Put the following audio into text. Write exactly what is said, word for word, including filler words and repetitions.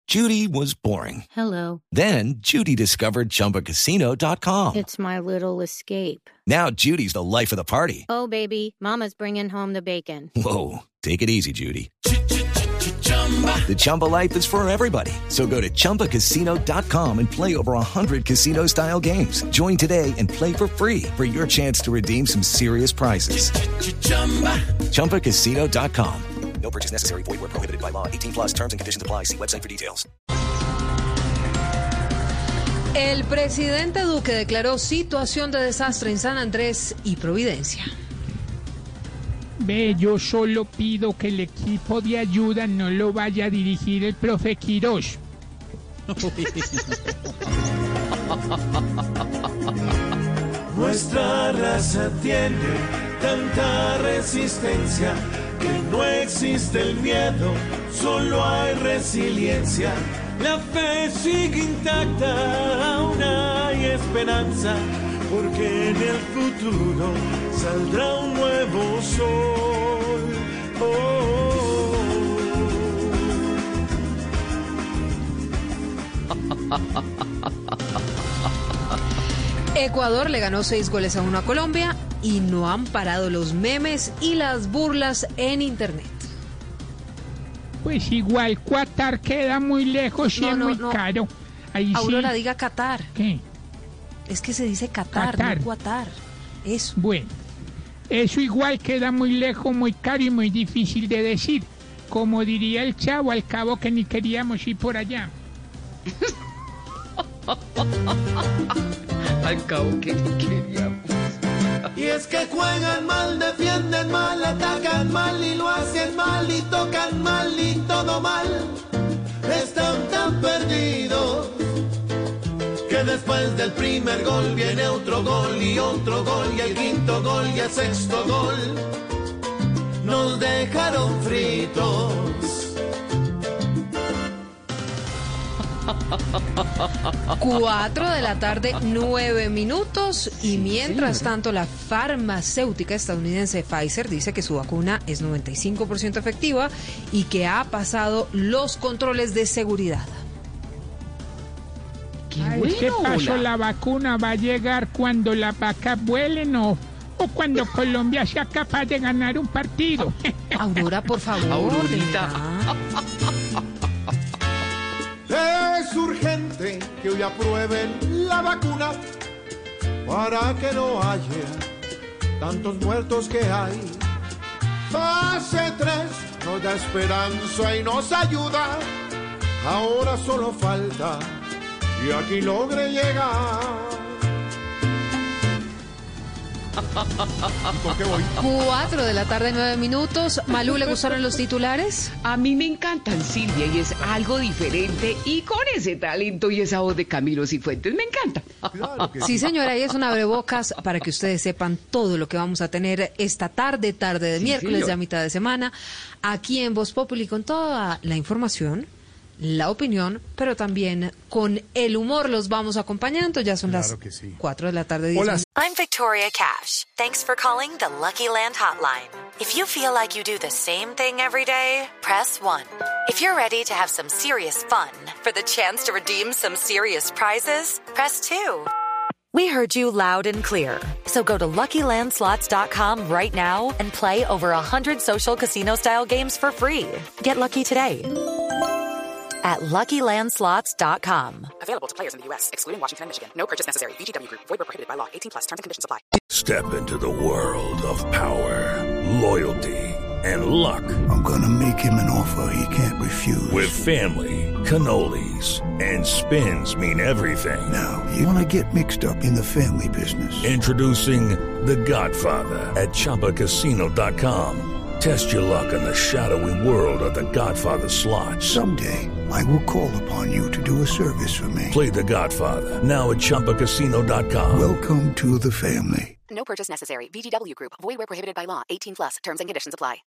Judy was boring. Hello. Then Judy discovered Chumba Casino dot com. It's my little escape. Now Judy's the life of the party. Oh, baby, mama's bringing home the bacon. Whoa, take it easy, Judy. The Chumba life is for everybody. So go to Chumba Casino dot com and play over one hundred casino-style games. Join today and play for free for your chance to redeem some serious prizes. Chumba Casino dot com. No purchase necessary. Void where prohibited by law. eighteen plus terms and conditions apply. See website for details. El presidente Duque declaró situación de desastre en San Andrés y Providencia. Ve, yo solo pido que el equipo de ayuda no lo vaya a dirigir el profe Quirós. Nuestra raza tiene tanta resistencia que no existe el miedo, solo hay resiliencia. La fe sigue intacta, aún hay esperanza, porque en el futuro saldrá un nuevo sol. Oh, oh, oh. Ecuador le ganó seis goles a uno a Colombia y no han parado los memes y las burlas en internet. Pues igual Qatar queda muy lejos y no, es no, muy no. caro. Ahí Aurora, sí. diga Qatar. ¿Qué? Es que se dice Qatar, Qatar. no Qatar. Eso. Bueno, eso igual queda muy lejos, muy caro y muy difícil de decir. Como diría el Chavo, al cabo que ni queríamos ir por allá. Al cabo que ni queríamos. Y es que juegan mal, defienden mal, atacan mal y lo hacen mal y tocan mal y todo mal. Están tan perdidos que después del primer gol viene otro gol y otro gol y el quinto gol y el sexto gol. Nos dejaron fritos. Cuatro de la tarde, nueve minutos. Y mientras tanto, la farmacéutica estadounidense Pfizer dice que su vacuna es noventa y cinco por ciento efectiva y que ha pasado los controles de seguridad. Qué A bueno, este paso hola. la vacuna va a llegar cuando las vacas vuelen o, o cuando Colombia sea capaz de ganar un partido. Aurora, por favor. Aurorita. Es urgente que hoy aprueben la vacuna para que no haya tantos muertos que hay. Fase tres nos da esperanza y nos ayuda. Ahora solo falta que aquí logre llegar. ¿Por qué voy? Cuatro de la tarde, nueve minutos. Malú, ¿le gustaron los titulares? A mí me encantan, Silvia, y es algo diferente y con ese talento y esa voz de Camilo Cifuentes. Me encanta. Claro que Sí, señora, y es un abrebocas para que ustedes sepan todo lo que vamos a tener esta tarde, tarde de Sí, miércoles, señor. ya mitad de semana, aquí en Voz Populi con toda la información, la opinión, pero también con el humor los vamos acompañando. Ya son Claro las que sí. cuatro de la tarde. diez Hola. minutos. I'm Victoria Cash. Thanks for calling the Lucky Land Hotline. If you feel like you do the same thing every day, press one. If you're ready to have some serious fun for the chance to redeem some serious prizes, press two. We heard you loud and clear. So go to Lucky Land Slots dot com right now and play over one hundred social casino-style games for free. Get lucky today at Lucky Land Slots dot com. Available to players in the U S, excluding Washington and Michigan. No purchase necessary. V G W Group. Void where prohibited by law. eighteen plus. Terms and conditions apply. Step into the world of power, loyalty, and luck. I'm gonna make him an offer he can't refuse. With family, cannolis, and spins mean everything. Now, you wanna get mixed up in the family business. Introducing The Godfather at Chumba Casino dot com. Test your luck in the shadowy world of The Godfather slot. Someday, I will call upon you to do a service for me. Play The Godfather now at Chumba Casino dot com. Welcome to the family. No purchase necessary. V G W Group. Void where prohibited by law. eighteen plus. Terms and conditions apply.